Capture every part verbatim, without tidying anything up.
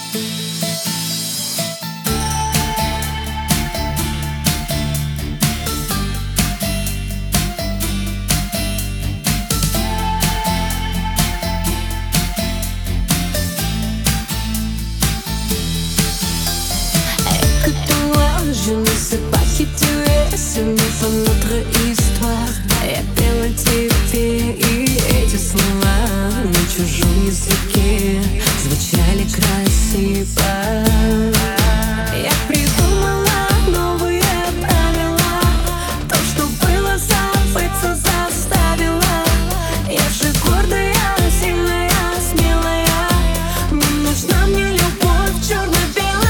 Je ne sais pas qui tu es, ce n'est pas notre histoire. Я пела тебе, и эти слова на чужом языке звучали красиво. Я придумала новые правила, то, что было, забыться заставила. Я же гордая, сильная, смелая, не нужна мне любовь черно-белая.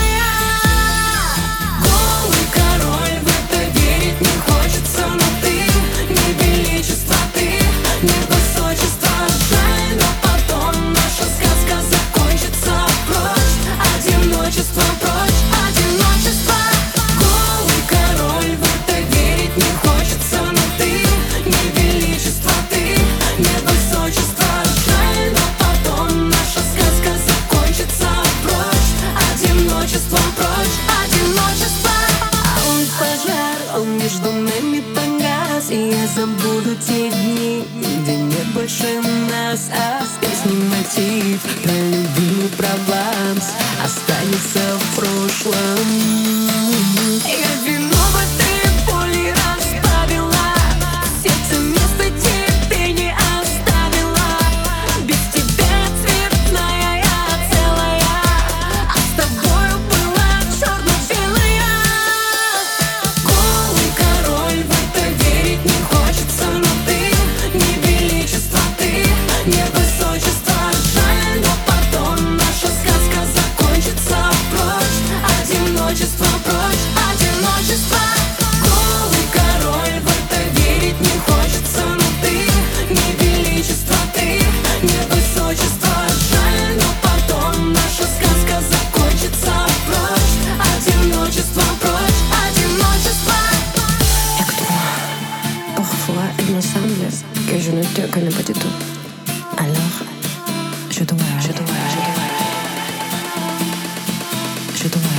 Между нами погас, и я забуду те дни, где нет больше нас. А с песней мотив про любви, про Прованс останется в прошлом. Я вино в этой боли разбавила, в сердце место тебе не оставила. Без тебя цветная я целая, а с тобою была черно-белая. Голый король, в это верить не хочется, но ты не величество, ты не высочество. Жаль, но потом наша сказка закончится. Прочь одиночество, прочь одиночество. Голый король, в это верить не хочется, но ты не величество, ты не высочество. Жаль, но потом наша сказка закончится. Прочь одиночество, прочь одиночество. Et que toi, parfois il me semble que je ne te connais pas du tout. Alors, je dois, je dois, je dois, je dois.